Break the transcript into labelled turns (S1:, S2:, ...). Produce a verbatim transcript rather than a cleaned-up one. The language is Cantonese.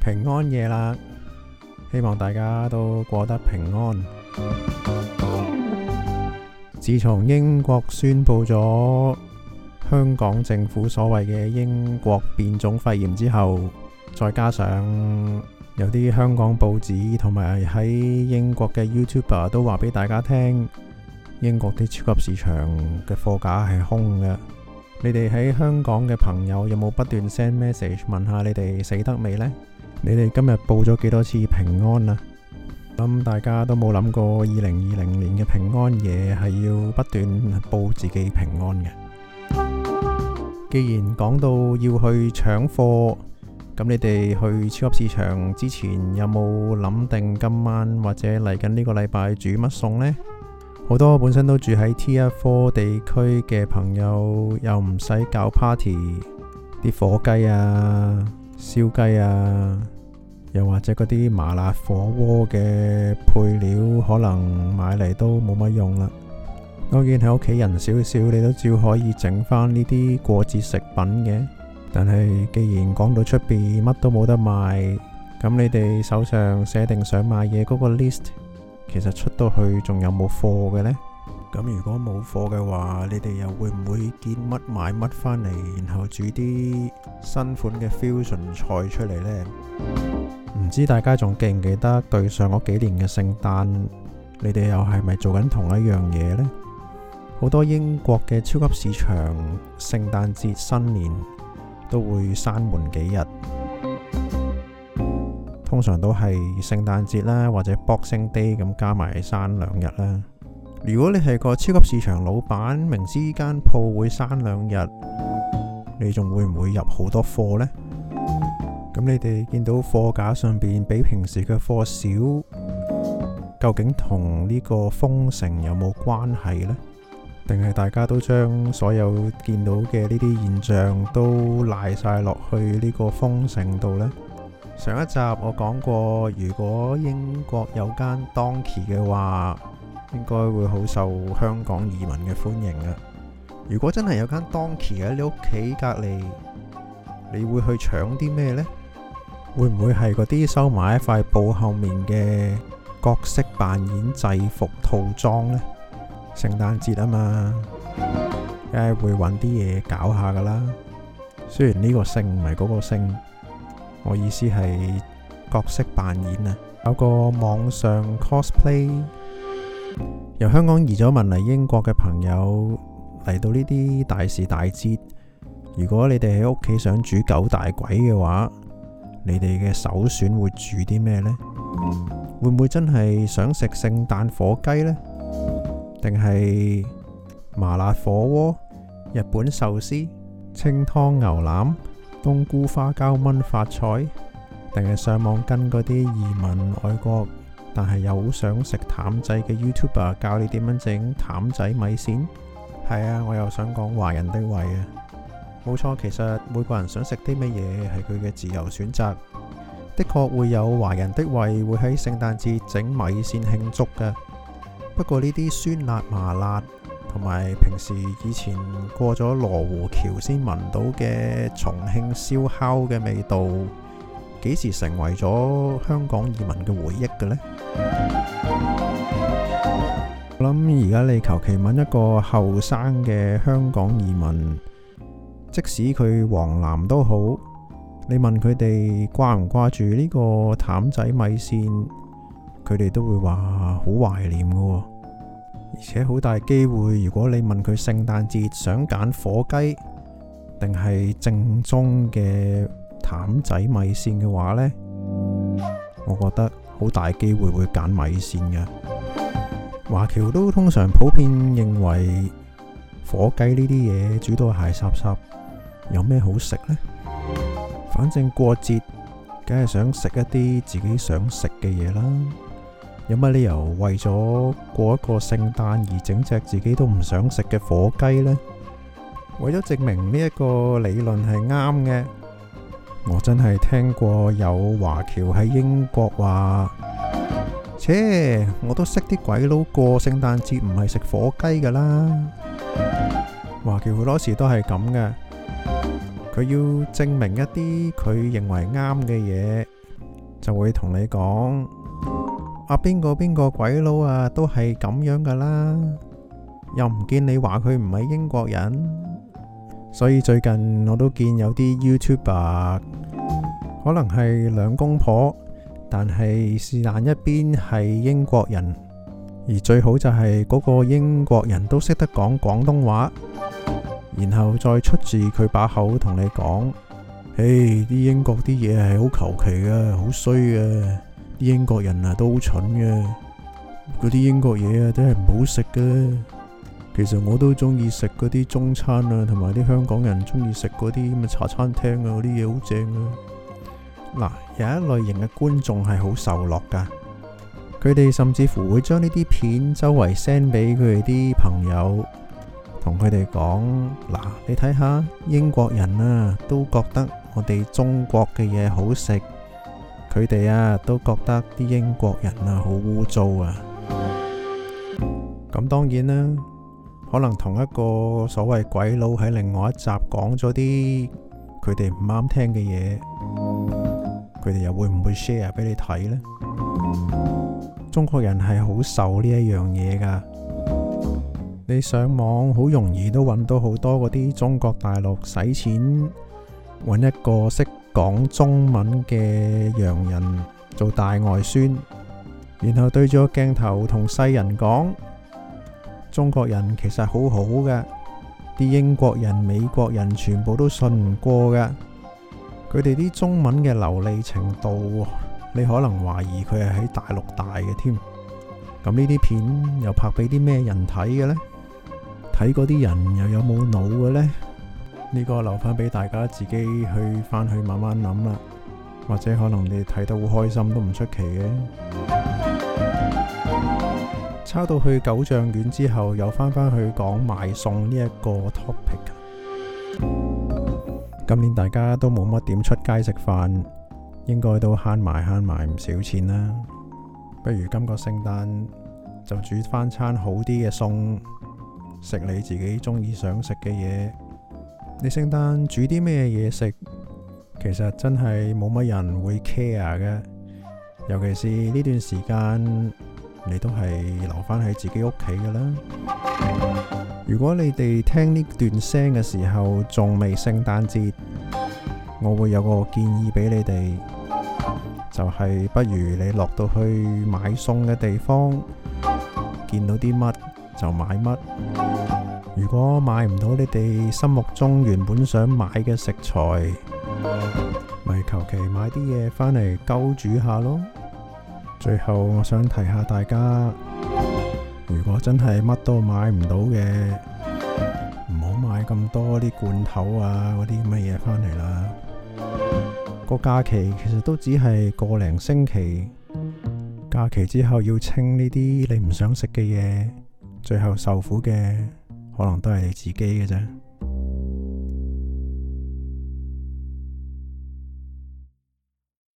S1: 平安夜啦，希望大家都過得平安。自從英國宣布咗香港政府所謂嘅英國變種肺炎之後，再加上有啲香港報紙同埋喺英國嘅 YouTuber 都話俾大家聽，英國啲超級市場嘅貨架係空嘅。你哋喺香港嘅朋友有冇不斷 send message 問下你哋死得未呢？你哋今日報咗幾多次平安啊？諗大家都冇諗過二零二零年嘅平安夜係要不斷報自己平安嘅。既然講到要去搶貨，咁你哋去超級市場之前有冇諗定今晚或者嚟緊呢個禮拜煮乜餸呢？好多本身都住喺 Tier 四地區嘅朋友又唔使搞 party， 啲火雞啊、燒雞啊，又或者嗰啲麻辣火鍋嘅配料可能買嚟都冇乜用啦。當然喺屋企人少少，你都照可以整翻呢啲過節食品嘅。但係既然講到出邊乜都冇得賣，咁你哋手上寫定想買嘢嗰個 list，其實出到去仲有冇貨嘅呢？咁如果冇貨嘅話，你哋又會唔會見乜買乜返嚟，然後煮啲新款嘅 fusion 菜出嚟呢？唔知大家仲記唔記得對上嗰幾年嘅聖誕，你哋又係咪做緊同一樣嘢呢？好多英國嘅超級市場聖誕節新年都會閂門幾日，通常都係聖誕節啦，或者 Boxing Day 咁加埋閂兩日啦。如果你係個超級市場老闆，明知間鋪會閂兩日，你仲會唔會入好多貨呢？咁你哋見到貨架上邊比平時嘅貨少，究竟同呢個封城有冇關係呢？定係大家都將所有見到嘅呢啲現象都賴晒落去呢個封城度呢？上一集我講過，如果英國有間 Donkey 嘅話，應該會好受香港移民嘅歡迎啊！如果真係有間 Donkey 喺你屋企隔離，你會去搶啲咩呢？會唔會係嗰啲收埋喺塊布後面嘅角色扮演制服套裝呢？聖誕節啊嘛，梗係會揾啲嘢搞下噶啦。雖然呢個星唔係嗰個星，我意思係角色扮演啊。有個網上 cosplay， 由香港移咗民嚟英國嘅朋友嚟到呢啲大時大節，如果你哋喺屋企想煮九大簋嘅話，你哋嘅首選會煮啲咩呢？會唔會真係想食聖誕火雞呢？定係麻辣火鍋、日本壽司、清湯牛腩、冬菇花膠炆發菜，定係上網跟嗰啲移民外國但係又好想食淡仔嘅 YouTuber 教你點樣整淡仔米線？係啊，我又想講華人的胃啊！冇錯，其實每個人想食啲乜嘢係佢嘅自由選擇。的確會有華人的胃會喺聖誕節整米線慶祝嘅。不過呢啲酸辣麻辣同埋平時以前過咗羅湖橋先聞到嘅重慶燒烤嘅味道，幾時成為咗香港移民嘅回憶嘅呢？我諗而家你求其問一個後生嘅香港移民，即使佢黃藍都好，你問佢哋掛唔掛住呢個淡仔米線，佢哋都會話好懷念嘅，而且好大機會，如果你問佢聖誕節想揀火雞定係正宗嘅淡仔米線嘅話呢，我覺得好大機會會揀米線嘅。華僑都通常普遍認為火雞呢啲嘢煮到鞋濕濕，有咩好食呢？反正過節梗係想食一啲自己想食嘅嘢啦，有乜理由為咗過一個聖誕而整隻自己都唔想食嘅火雞呢？為咗證明呢一個理論係啱嘅，我真係聽過有華僑喺英國話，切，我都識啲鬼佬過聖誕節唔係食火雞噶啦。華僑好多時都係咁嘅，佢要證明一啲佢認為啱嘅嘢， 就會同你講啊，邊個邊個鬼佬啊，都係咁樣噶啦，又唔見你話佢唔係英國人。所以最近我都見有啲 YouTuber 可能係兩公婆，但係是但一邊係英國人，而最好就係嗰個英國人都識得講廣東話，然後再出自佢把口同你講，誒，啲英國啲嘢係好求其噶，好衰噶，啲英國人啊都好蠢噶，嗰啲英國嘢啊真係唔好食噶。其實我都中意食嗰啲中餐啊，同埋啲香港人中意食嗰啲咁嘅茶餐廳啊，嗰啲嘢好正啊。嗱，有一類型嘅觀眾係好受落噶，佢哋甚至乎會將呢啲片周圍 send 俾佢哋啲朋友，同佢哋講，嗱，你睇下英國人啊都覺得我哋中國嘅嘢好食，佢哋啊都覺得啲英國人啊好污糟啊。咁當然啦，可能同一個所謂鬼佬喺另外一集講咗啲佢哋唔啱聽嘅嘢，佢哋又會唔會 share 俾你睇呢？中國人係好受呢一樣嘢噶，你上網好容易都揾到好多嗰啲中國大陸使錢揾一個識講中文嘅洋人做大外宣，然後對住個鏡頭同世人講，中國人其實好好嘅，啲英國人、美國人全部都信唔過嘅。佢哋啲中文嘅流利程度，你可能懷疑佢係喺大陸大嘅添。咁呢啲片又拍俾啲咩人睇嘅呢？睇嗰啲人又有冇腦嘅呢？呢個留翻俾大家自己去翻去慢慢諗啦。或者可能你睇得好開心都唔出奇嘅。抄到去九丈遠之後，又翻返去講買餸呢一個 topic。今年大家都冇乜點出街食飯，應該都慳埋慳埋唔少錢啦。不如今個聖誕就煮翻餐好啲嘅餸，食你自己中意想食嘅嘢。你聖誕煮啲咩嘢食，其實真係冇乜人會 care 嘅，尤其是呢段時間。你都係留返喺自己屋企㗎啦。如果你哋聽呢段聲嘅時候仲未聖誕節，我會有個建議俾你哋，就係不如你落到去買餸嘅地方，見到啲乜就買乜。如果買唔到你哋心目中原本想買嘅食材，咪求其買啲嘢返嚟鳩煮下咯。最後我想提下大家，如果真係乜都買唔到嘅，唔好買咁多啲罐頭啊嗰啲乜嘢返嚟啦。個假期其實都只係個零星期，假期之後要清呢啲你唔想食嘅嘢，最後受苦嘅可能都係你自己嘅啫。